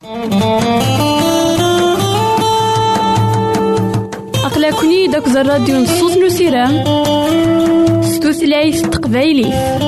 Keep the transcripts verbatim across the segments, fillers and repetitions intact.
أقلكني داك الراديو نصوص نسيران ستوثلايف تقبايلي.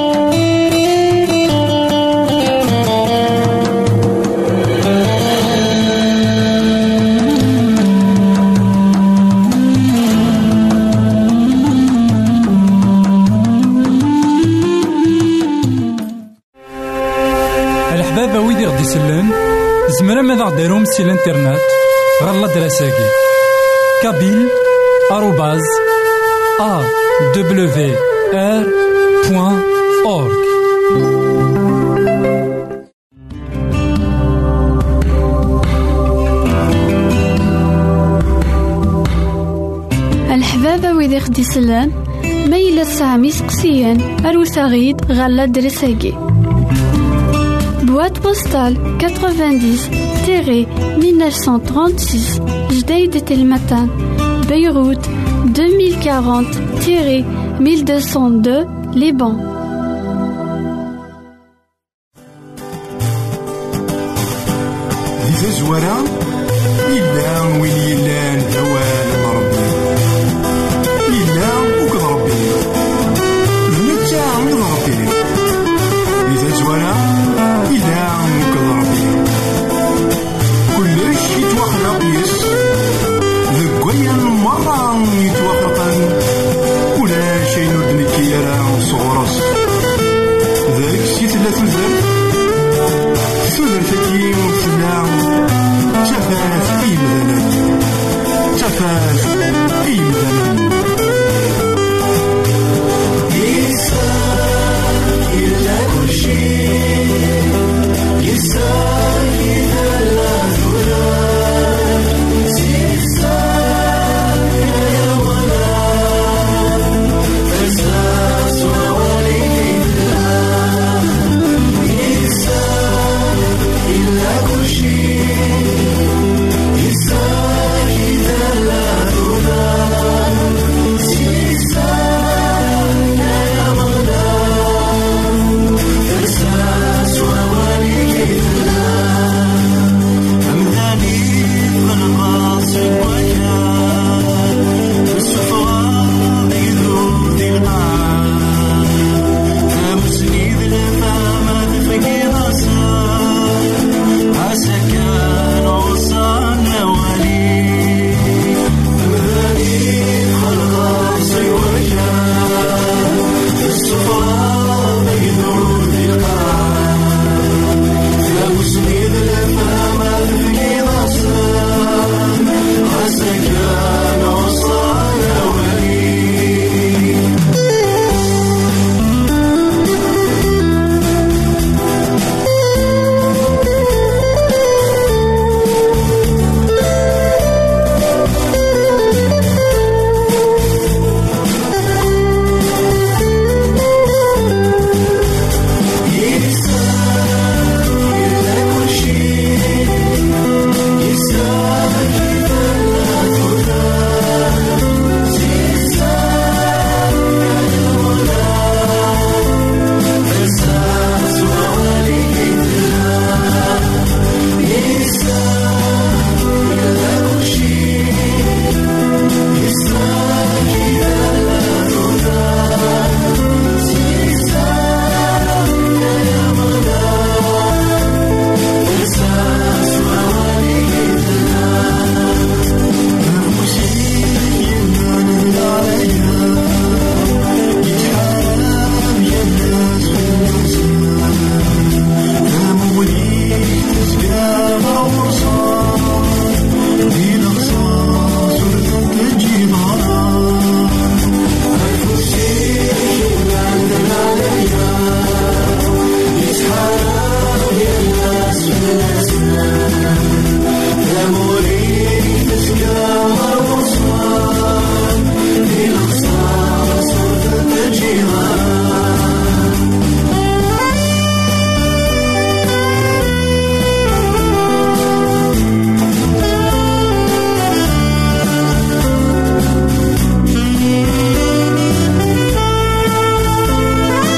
الحبابة ويدي غدي يسلم زمرا ماذا غديرهم سي الانترنت غالا دراساكي كابيل آروباز أ دبليو آر بوان أورك. الحبابة ويدي غدي يسلم ميلا سامي سقسيان أروساغيد غالا دراساكي boîte postale quatre-vingt-dix mille neuf cent trente-six Jdeïd Telmatan Beyrouth deux mille quarante mille deux cent deux Liban. Di tazwara yellan win yellan d awal n Rebbi, yellan uked Rebbi d netta d Rebbi. Di tazwara yellan uked Rebbi, kullec yettwaxleq yes deg wayen merra yettwaxleqen, ulac ayen ur d-nekki ara sɣur-s. ذلك si tella tudert, tudert-agi tella tafat i yimdanen, tafat i yimdanen. Yessar illa kul shay, yessar idha la tulad, yessar ya walad, fasas wa walidillah. Yessar illa kul shay, yessar idha la tulad, yessar ya walad, fasas wa walidillah. أمداني بالغاصب وكان بالسفرة يذوب ذي القاع، أمسني ذي الفامة تفكي غصان، عسى كان وصلنا ولي. أمداني بالغاصب وكان بالسفرة يذوب ذي القاع، أمسني ذي الفامة تفكي غصان، عسى كان وصلنا ولي.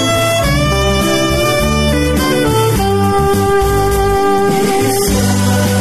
Yessar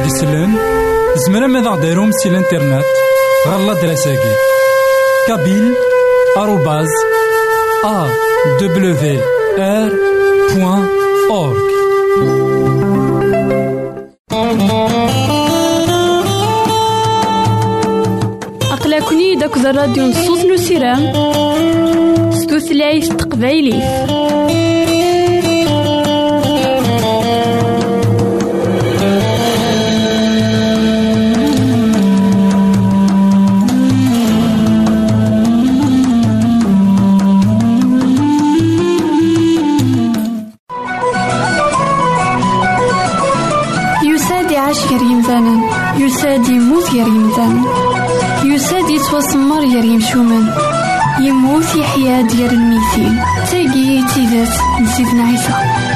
غدي يسلم زمرا ماذا غديرهم سي الانترنت غالا دراساكي كابيل آروباز أ دبليو آر بوان أورك. أقلكني داك الراديو نصوص نسيران ستوثلايف تقبايلي. يساد يموت يا ريمدان يساد يتوسمر يا ريمشومن يموت يحيا ديال الميتين تاقي تيدات نسيدنا عيسى.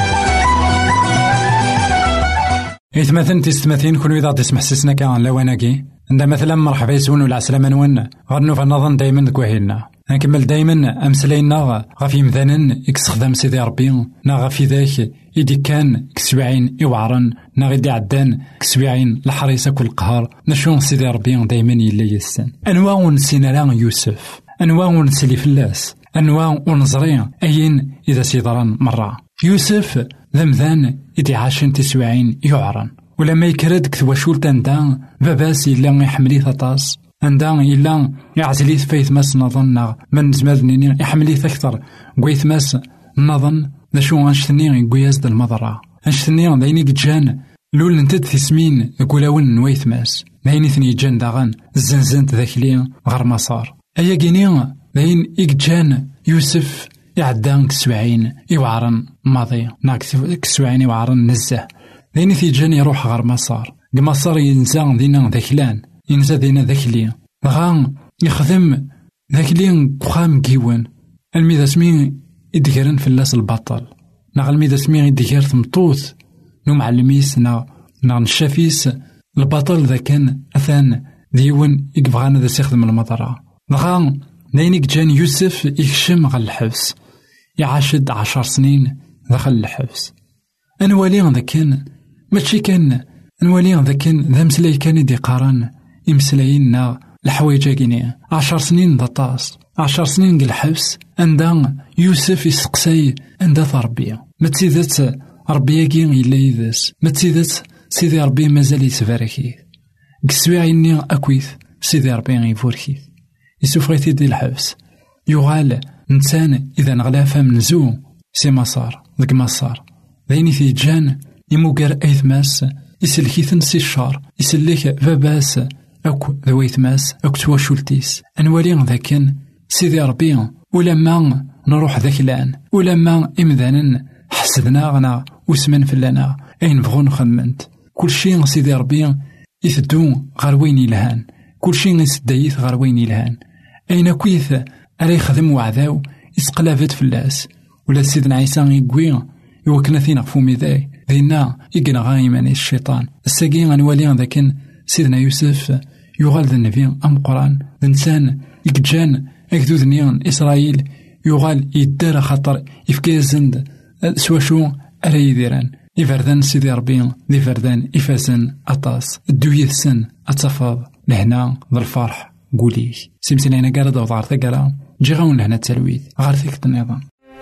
إذا مثلا تستمثين كل إذا تسمح سسنا كان لواناكي عند مثلا مرحبا يسون ولا عسلامة نون غنو فنظن دايما دكواهيلنا نكمل دايما أمسلينا غافي مثلا يكسخدم سيدي ربي نا غافي ذاك إدي كان كسبعين إوعرن نا غيدي عدان كسبعين الحريصة كل قهر نشون سيدي ربي دايما يلا يسن أنواع ونسينا لا يوسف أنواع ونسلي فلاس أنواع ونزري أين إذا سيدران مرة يوسف ذمذان إدي عاشن تسبعين يعرن ولما يكرد كثواشول تندان باباس إلا يحملي ثطاس عندان إلا يعزليث فايث ماس نظن من زمادنيني يحمليث أكثر قويث ماس نظن ذا شو أنشتني قوياز دا المضرع أنشتني دايني جان لول نتد ثسمين قولاون نويث ماس دايني ثني جان داغن الزنزنت ذاكلي غير مسار أيا كيني داين إيجان يوسف يعدان كسبعين يوعرن ماضي ناك كسبعين يوعرن نزه دايني ثي جان يروح غير مسار قمصار ينزان دينا ذاكلان ينزا دينا ذاكلي غان يخدم ذاكلي قخام كيوان الميدا سمين يدقرن في اللاس البطل نا الميدا سمين يدقر ثمطوث نو معلميس نا نا نشافيس البطل ذا كان أثان ديوان يقبغانا ذا سيخدم المطرة غان ناينيك جان يوسف يكشم غال الحبس يعاشد عشر سنين داخل الحبس أنوالي ذا كان ماشي كان أنوالي ذا كان ذا مسلاي كان يدي قارن يمسلاينا الحوايج كينيا عشر سنين ذا طاس عشر سنين قل الحبس عندها يوسف يسقسي عندها تربية ما تسيدت ربيا كي إلا يذس ما تسيدت سيدي ربي مازال يتباركي قسوي عيني أكويث سيدي ربي يفوركي يسوف غيثي دي الحبس يغال إنسان إذا نغلافا من زو سي مسار ذك مسار ذيني في جان يموكر أيث ماس يسلكيثن سي الشار يسلك باباس أكو ذويث ماس أكو تواشولتيس أنوالي ذاكن سيدي ربي ولما نروح ذاك الآن ولما إمذانا حسدنا غنا وسمن فلانا أين بغون خدمنت كل شيء سيدي ربي يثدو غير وين يلهان كل شيء يسدايث غير وين يلهان أين كويث أري خدم وعذاو يسقلافت فلاس ولا سيدنا عيسى يقوي يوكنا ثينا فومي ذاي ذينا يقنا غايمان الشيطان الساقين غنوالي ذاكن سيدنا يوسف يغال ذا النبي أم قرآن ذا إنسان يكجان أكدو ذنيان إسرائيل يغال يدار خطر يفكازند سواشو أرى يديران يفردان سيدي ربي ذي فردان إفازن أطاس الدوية السن أتفاض لهنا ذا الفرح قوليه سيمسلينا قارد وضعر ثقالا جيغاون لهنا التلويث غارثيك النظام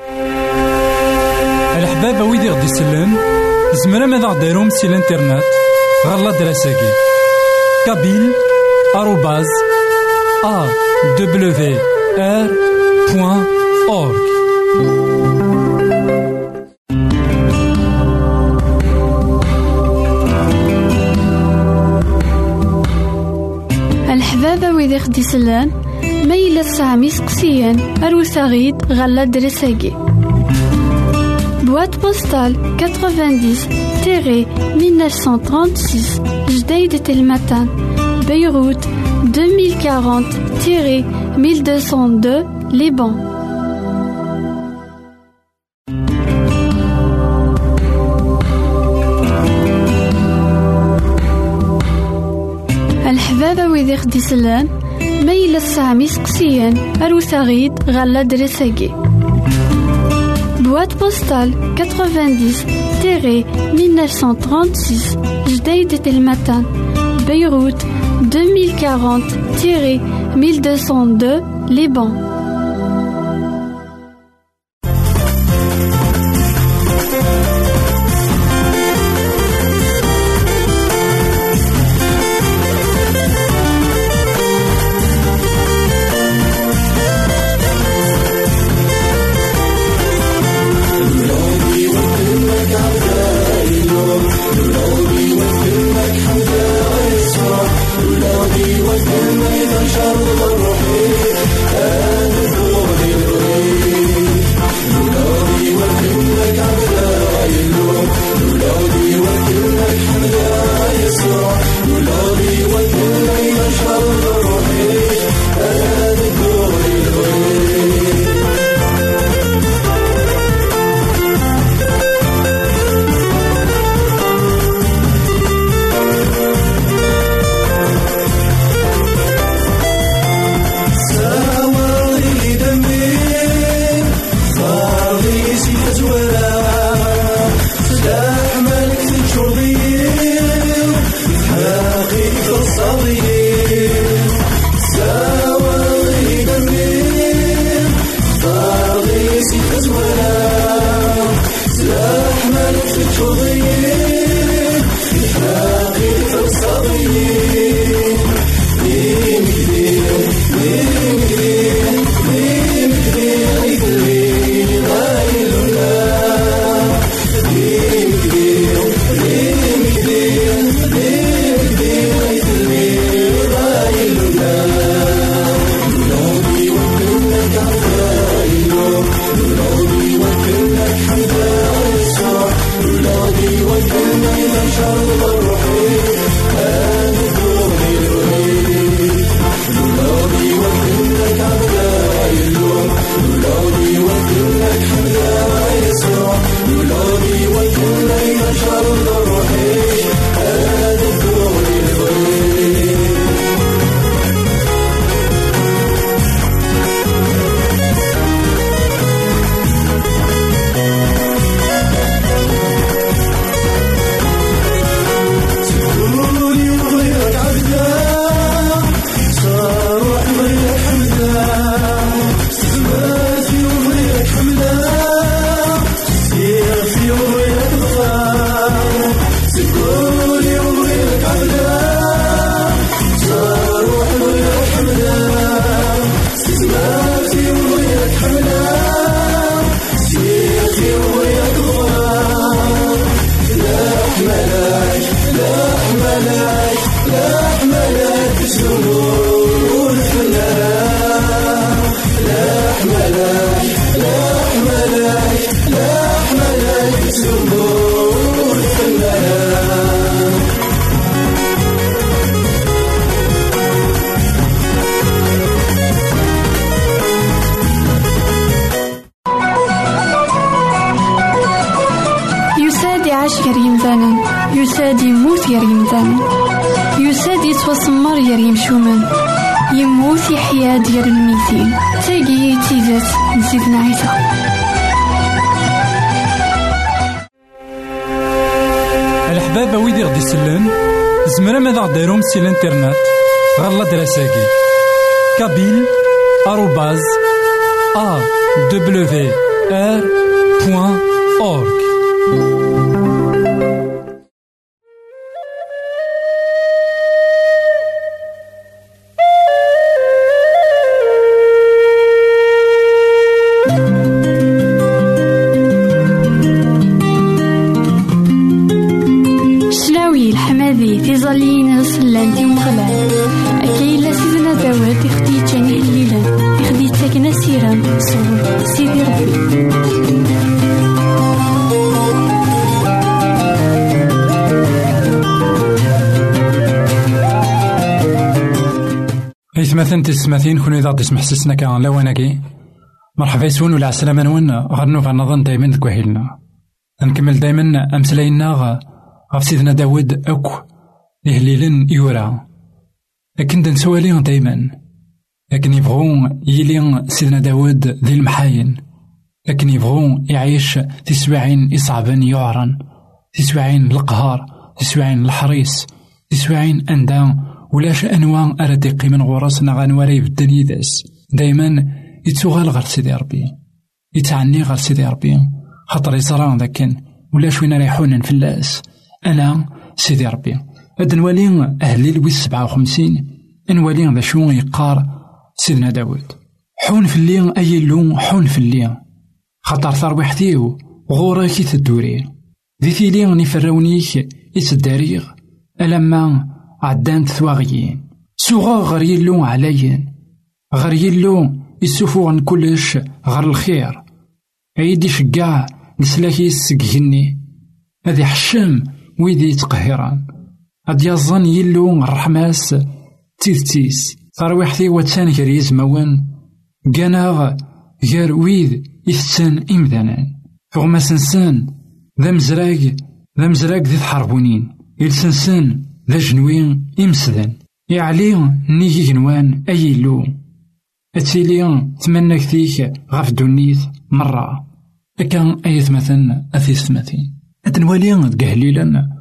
الحباب ويدي غدي سلم زمرا ماذا غديرهم سي الانترنت غالا دراساكي كابيل آروباز أ دبليو آر بوان أورك. الحبابة ويدي خدي سلان ميلا سامي سقسيان أروساغيد غالا دراساكي boîte postale quatre-vingt-dix mille neuf cent trente-six Jdeï de Telmatan Beyrouth deux mille quarante mille deux cent deux Liban. الحبابة ويدي خدي سلان ميلا سامي سقسيان أروساغيد غالا دراساكي Boîte postale quatre-vingt-dix mille neuf cent trente-six Jdeï de Telmatan, Beyrouth deux mille quarante mille deux cent deux Liban. يساد يموت يا ريمدان، يساد يتوسمر يا ريمشومان، يموت يحيا ديال الميتين. تاقي تيزات نزيدنا عيسى. الحباب ويدي غدي يسلن زمرا ماذا غديرهم سي الانترنت غالا دراساكي كابيل آروباز أ دبليو آر بوان أورك. تيزالين سلانتي ومغلال أكيلا سيدنا داود يخدي تاني الليلة يخدي تاكنا سيران صور سيدي ربي. إثمثن تسمثين كونو إذا تسمح سسنا كان لواناكي مرحبا يسون ولا عسلامة نون غرنو فنظن دايما ذكوهيلنا نكمل دايما أمسلاينا غف سيدنا داود أكو يهليلن يورا لكن دنسوالين دايما لكن يبغون يلين سيدنا داود ذي المحاين لكن يبغون يعيش تسبعين إصعبا يعرن، تسبعين القهار، تسبعين الحريص، تسبعين أندام ولاش أنواع أردقي من غرسنا غنواري يبدل يداس. دايما يتوغال غير سيدي ربي، يتعني غير سيدي ربي، خاطر يزران ذاكن ولاش وين رايحون نفلاس. أنا سيدي ربي هاد نولي أهلي لويس سبعة وخمسين، نولي ذا شو يقار سيدنا داود. حون في الليل أي لون حون في الليل، خاطر ثروحتيو غوراكي تدوري ذي ثيلي نفراونيك يتداريغ ألما عدانت ثواغيين. سوغا غير يلو عليين، غير يلو يسوفو كلش غير الخير. عيدي شقاع نسلاكي يسقهني هذي حشم ويدي يتقهران. هاد يظن يلو الرحماس تيثتيس ثروحتي واتسان غير يزموان قناغ غير ويد يثسان إمذانان. فغما سنسان ذا مزراق ذا مزراق ذي تحربونين يلسنسان ذا جنوين إمسدان. يعلي نيجي جنوان أي لو أتيلي تمنى كثيك غاف دونيث مرة أكان أيث مثلا أثيث مثين أتنوالي تقهليلا.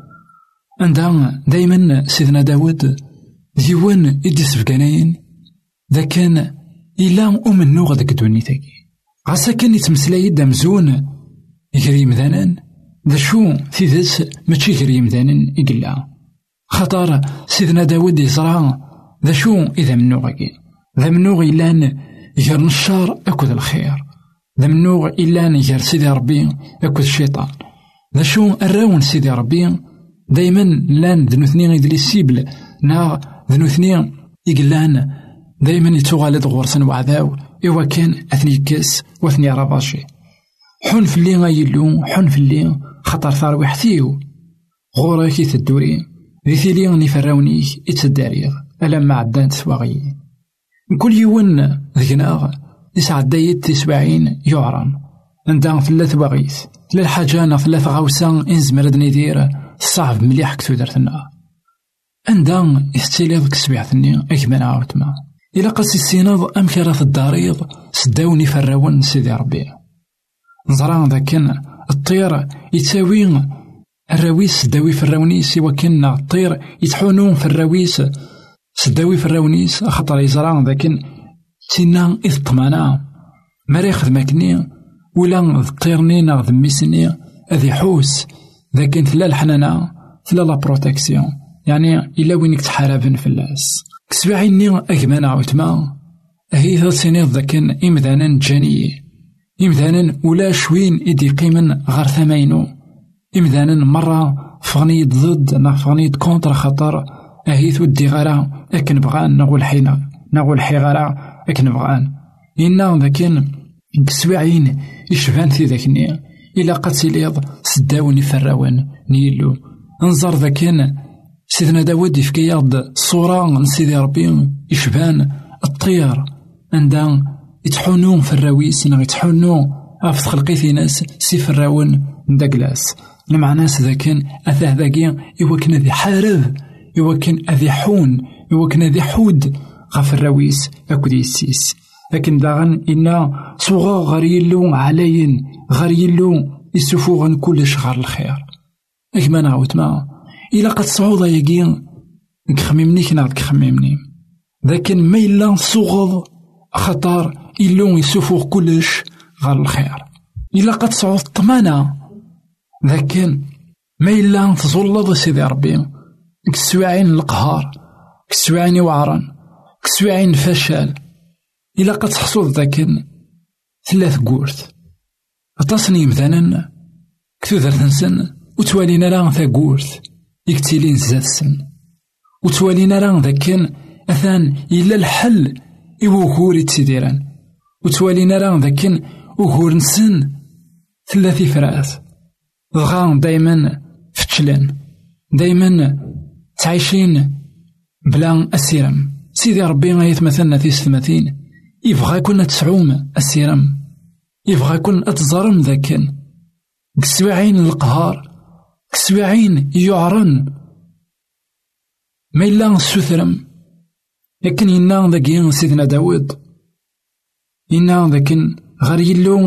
عندها دايما سيدنا داود ديوان إدي سفقانين ذا كان إلا أمنو غدك دونيثاكي عسا كان يتمسلاي دامزون يجري مذانان ذا شو في ذس ماشي يجري مذانان إقلا. خطر سيدنا داود يزرع ذا شو إذا منو غاكي ذا منو إلان يجر الشر أكد الخير، ذا منو إلان يجر سيدي ربي أكد الشيطان. ذا شو الراون سيدي ربي دايما لان ذنو ثنين يدلي السيبل نا ذنو ثنين يقلان دايما يتوغالد غورسن وعذاو إوا كان أثني كاس واثني رباشي. حون في اللي غايلو حون في اللي خطر ثاروحتيو غوراكي تدوري ذي ثيلي نفراونيك يتداريغ ألما عدان تسواغيين. كل يوم ذكناغ يسعد دايت تسبعين يعرن عندها ثلاث بغيث للحاجة ثلاث غوسان إنزمرد ندير صعب مليح كتو درتنا. عندها يستيليض كسبيعتني أكمل عاوتما إلا قاس السيناض أمكرة في الداريض سداوني فراون سيدي ربي. نزران ذاكن الطير يتساوي الراويس سداوي فراونيس إوا كنا الطير يتحونون في الراويس سداوي فراونيس خطر يزران ذاكن تينا إذ طمانا مريخ ذماكني ولا الطيرني ناغ ذميسني أذي حوس ذاكن ثلا الحنانة ثلا لا بروتكسيون يعني إلا وينك تحاربن في اللاس. كسبعيني أكمانا عوتما هي ذا سينيض ذاكن إمذانا جاني إمذانا ولا شوين إدي قيمن غير ثماينو إمذانا مرة فغنيد ضد نا فغنيد كونتر خطر أهيث ودي غرا أكن بغان نقول حينا نقول حي غرا أكن بغان إنا ذاكن كسبعين يشبان في ذاكني إلا قتليض سداوني فراوان نيلو. انظر ذاكن سيدنا داود يفكيض صورة سيدي ربي يشبان الطير عندها يتحونون في الراويس نا يتحونون أفت خلقيتي ناس سي فراون نداكلاس المعناس ذاكن أثاه ذاكي إوا كان ذي حارب إوا كان أذي حون إوا كان ذي حود غف الراويس أكد يسيس. لكن داغن إنا صغا غير يلو عليين غير يلو يسوفوغن كلش غير الخير. أكما نعاود ما إلا قد صعودا يقين كخميمني كنا كخميمني لكن ما إلا صغض خطر إلو يسوفوغ كلش غير الخير. إلا قد صعود طمانا لكن ما إلا تظلض سيدي ربي كسواعين القهار كسواعين وعران كسواعين فشل. إلا قد تحصل ذاكن ثلاث قورث أتصني مثلا كثوذر تنسن وتوالينا لان ثا قورث يكتيلين زاد السن وتوالينا لان ذاكن أثان إلا الحل إوهور يتسيديران وتوالينا لان ذاكن وهور نسن ثلاثي فراث ضغان دايما فتشلان دايما تعيشين بلا السيرم. سيدي ربي غايت مثلنا في ستماثين يبغى كنا تسعوم السيرم يبغى كنا أتزرم ذاكن كسواعين القهار كسواعين يعرن ما إلا السثرم. لكن إنا ذاكين سيدنا داود إنا ذاكن غير يلو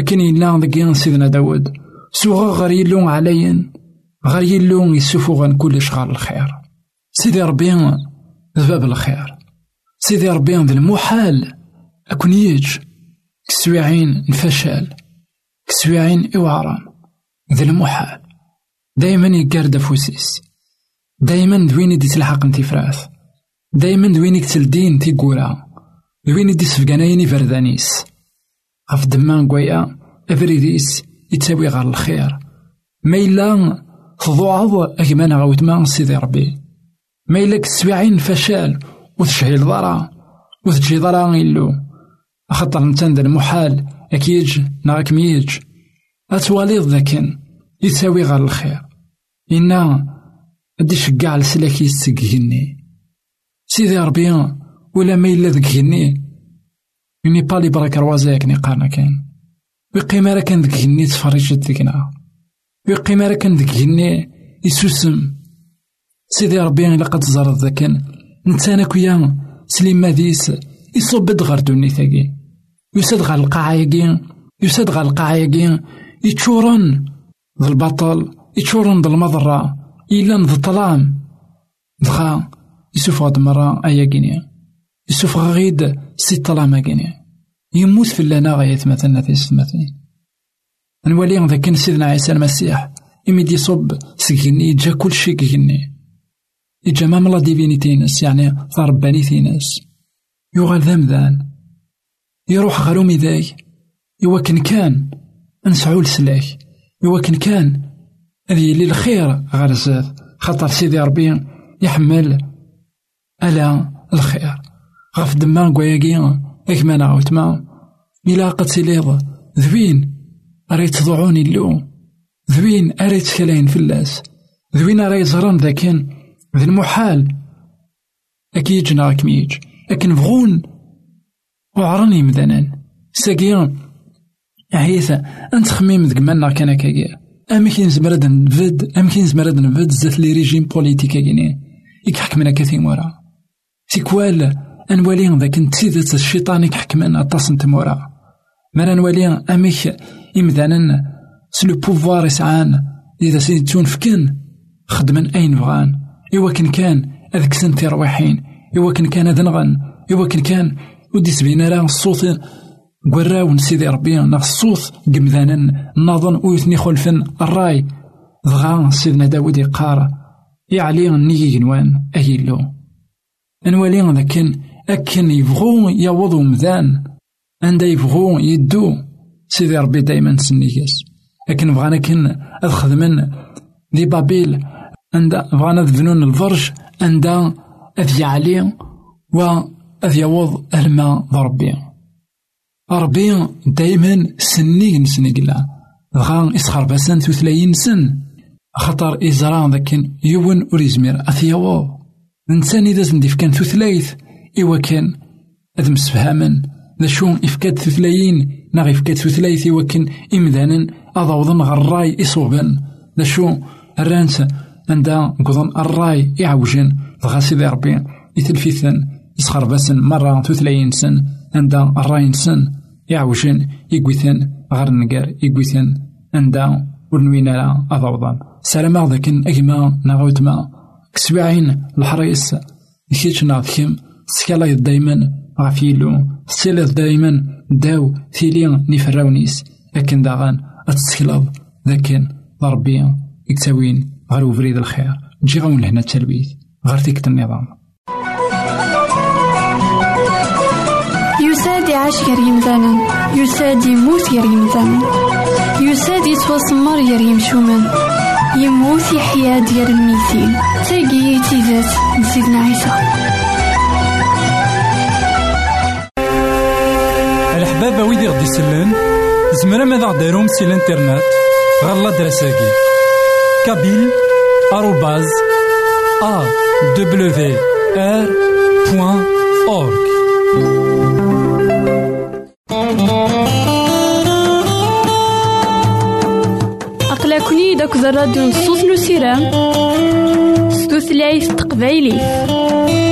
لكن إلا ذكي سيدنا داود سوغا غير يلون عليا غير يلون يسوفو كل شغال الخير. سيدي ربي ذباب الخير، سيدي ربي ذا المحال أكون يج كسويعين الفشل كسويعين إوعران ذا المحال دايما يقارد فوسيس، دايما دويني دي تلحق انتي فراث، دايما دويني كتلدين تي قورا، دويني دي سفقانايني فردانيس غف دمان قويا أفريديس يتساوي غير الخير. ما إلا تضوعض أكمان غاوت ما سيدي ربي، ما إلا كتسويعين فشل وتشهي الضرا وتجي ضرا إلو أخطر نتان ذا المحال أكيج ناك ميج أتواليض ذاكن يتساوي غير الخير. إنا أدي شقع لسلاكي يستقهني سيدي ربي ولا ما إلا ذكهني يني بالي براك روازاك نقارنا كان ويقيما راه كان ذكهني تفرجت ذكنا ويقيما راه كان ذكهني يسوسم سيدي ربي إلا قد زرد ذاكن نتانا كويا سليم ماديس يصب دغر دوني ثاقي يساد غا القاعة يقين يساد غا القاعة يقين يتشورن ذا البطل يتشورن ذا المضرة إلا ذا الظلام دغا يسوف غاد مرة أيا كينيا يسوف غيد سي الظلام كينيا يموت في اللنا غاية مثلنا في السماتين. نولي ذا كان سيدنا عيسى المسيح يمد يصب سكيني يجا كل شي كيني يجا ماملا ديفينيتينس يعني ضربانيتينس يغال ذمذان يروح غرومي ذاي يوكن كان نسعو لسلاك يوكن كان هذه اللي الخير غرزات خطر سيدي ربي يحمل ألا الخير غف دمان قوياقيا اكمان عوتما إلا قد سيليض ذوين أريد تضعوني اللو ذوين أريد كلاين في اللاس ذوين أريد زران ذاكن ذي المحال أكيد جناك ميج لكن بغون وعرني مذنان ساقيا عيثا أنت خميم ذك منا كان كاقيا أما كين زمرد نفد أما كين زمرد نفد زات لي ريجيم بوليتيكا كيني يكحكمنا كثير مورا سيكوال أنوالي ذاك نتسيدت الشيطان يكحكمنا أطاس نتمورا مرا نوالي أميك إمذانا سلو بوفوار يسعان إذا سيدتون فكن خدمن أين بغان إوا كان كان أذك سنتي رواحين إوا كان كان ذنغن إوا كان كان ودي سبينا راه الصوت قراو نسيدي ربي نا الصوت قمذانا ناظن ويثني خلفن الراي ضغا سيدنا داود يقار يعلي نيجي جنوان أهيلو أنوالي لكن أكن يبغو يوضو مذان عند يبغو يدو سيدي ربي دايما سنيكس لكن بغانا كن أخذ من دي بابيل عند بغانا ذفنون الفرج عند أذي علي وأذي يوض الماء ضربي ربي دايما سنيك نسنيقلا بغا إسخر بسان ثلاثين سن خطر إزران ذاكن يون وريزمير أثيوض نسان إذا زندف كان ثلاث إوا كان أذ مسفهاما ذا شون إفكاد ثلاثين ناغ إفكاد ثلاث إوا كان إمذانا أضوضن غراي إصوبا ذا شون الرانس عندها قضن الراي يعوجن دغا سيدي ربي يتلفيثن يسخر بسن مرة ثلاثين سن عندها الراي سن يعوجن يقويثن غير النقار يقويثن عندها ورنوينا أضوضن سلام ذاكن أجما ناغوتما كسبعين الحريص يكيتش ناضكم سكالا دايما غافيلو سيلا دايما داو ثيليا نفراونيس لكن داغان أتسكلاب لكن ضربي يكتاوين غير فريد الخير جي غاون لهنا التلبيث غير تيكت النظام يسادي عاش غير يمدانا يسادي موت غير يمدانا يسادي توسمر غير يمشومان يموت يحيا ديال الميتين تاقي تيزات نسيدنا عيسى. الحبابة ويدي غدي يسلن زمرا ماذا غديرهم سي الانترنت غالا دراساكي كابيل آروباز أ دبليو آر بوان أورك. أقلكني داك الراديو نصوص نسيران ستوثلايف تقبايلي